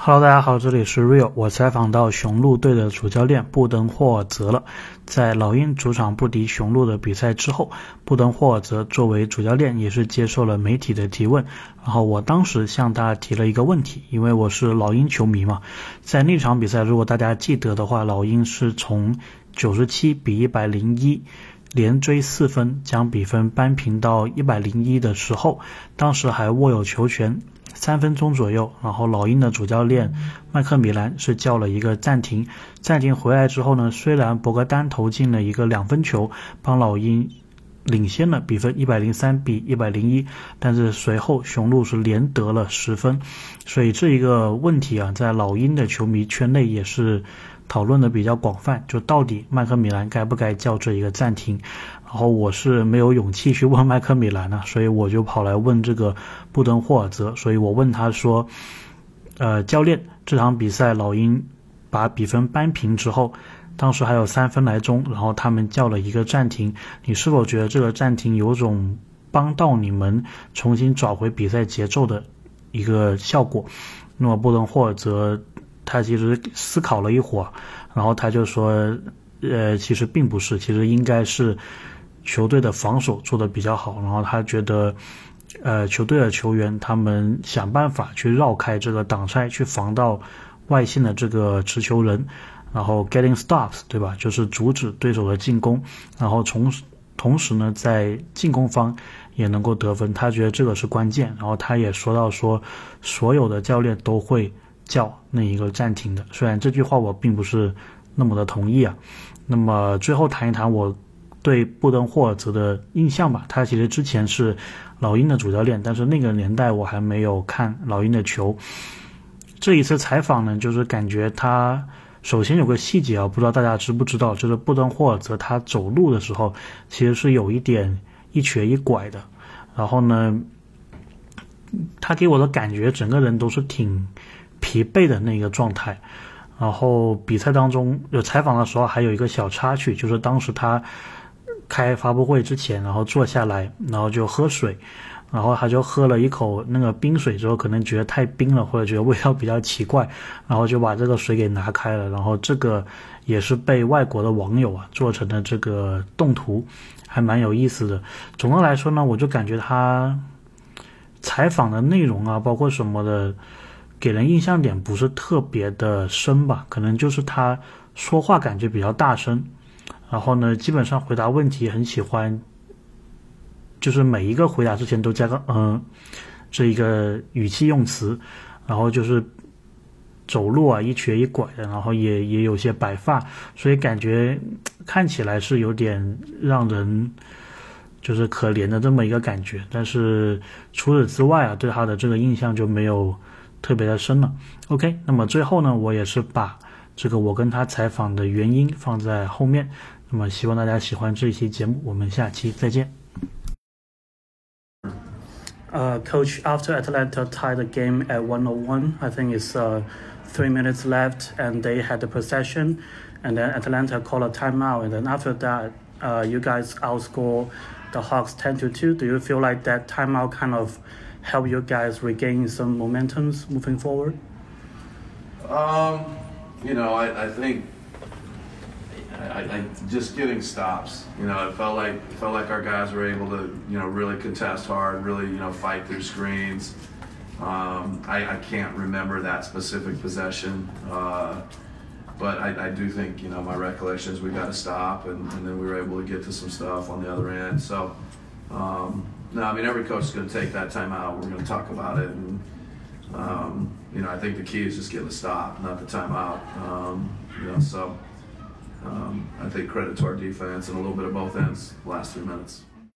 Hello， 大家好，这里是 Real。我采访到雄鹿队的主教练布登霍尔泽了。在老鹰主场不敌雄鹿的比赛之后，布登霍尔泽作为主教练也是接受了媒体的提问。然后我当时向他提了一个问题，因为我是老鹰球迷嘛。在那场比赛，如果大家记得的话，老鹰是从97比101连追4分，将比分扳平到101的时候，当时还握有球权3分钟左右，然后老鹰的主教练麦克米兰是叫了一个暂停回来之后呢，虽然博格丹投进了一个2分球，帮老鹰领先了比分103比101，但是随后雄鹿是连得了10分，所以这一个问题啊，在老鹰的球迷圈内也是讨论的比较广泛，就到底麦克米兰该不该叫这一个暂停。然后我是没有勇气去问麦克米兰所以我就跑来问这个布登霍尔泽。所以我问他说教练，这场比赛老鹰把比分扳平之后，当时还有3分来钟，然后他们叫了一个暂停，你是否觉得这个暂停有种帮到你们重新找回比赛节奏的一个效果？那么布登霍尔泽他其实思考了一会儿，然后他就说其实并不是，其实应该是球队的防守做得比较好，然后他觉得球队的球员他们想办法去绕开这个挡拆，去防到外线的这个持球人，然后 getting stops， 对吧，就是阻止对手的进攻，然后同时呢在进攻方也能够得分，他觉得这个是关键。然后他也说到说所有的教练都会叫那一个暂停的，虽然这句话我并不是那么的同意啊。那么最后谈一谈我对布登霍尔泽的印象吧。他其实之前是老鹰的主教练，但是那个年代我还没有看老鹰的球。这一次采访呢，就是感觉他首先有个细节啊，不知道大家知不知道，就是布登霍尔泽他走路的时候其实是有一点一瘸一拐的，然后呢他给我的感觉整个人都是挺疲惫的那个状态。然后比赛当中有采访的时候还有一个小插曲，就是当时他开发布会之前，然后坐下来，然后就喝水，然后他就喝了一口那个冰水之后，可能觉得太冰了，或者觉得味道比较奇怪，然后就把这个水给拿开了。然后这个也是被外国的网友做成了这个动图，还蛮有意思的。总的来说呢，我就感觉他采访的内容包括什么的，给人印象点不是特别的深吧，可能就是他说话感觉比较大声，然后呢基本上回答问题很喜欢就是每一个回答之前都加个这一个语气用词，然后就是走路一瘸一拐的，然后也有些白发，所以感觉看起来是有点让人就是可怜的这么一个感觉。但是除此之外对他的这个印象就没有特别的深了。 OK， 那么最后呢，我也是把这个我跟他采访的原因放在后面，那么希望大家喜欢这一期节目，我们下期再见。Coach, after Atlanta tied the game at 101, I think it's 3 minutes left and they had the possession, and then Atlanta called a timeout, and then after that you guys outscore the Hawks 10-2. Do you feel like that timeout kind of help you guys regain some momentums moving forward? I think I just getting stops. It felt like our guys were able to really contest hard, really fight through screens. I can't remember that specific possession, but I do think my recollection is we got to stop, and then we were able to get to some stuff on the other end. So. No, I mean, every coach is going to take that time out. We're going to talk about it. And, I think the key is just getting the stop, not the timeout. So I think credit to our defense and a little bit of both ends the last 3 minutes.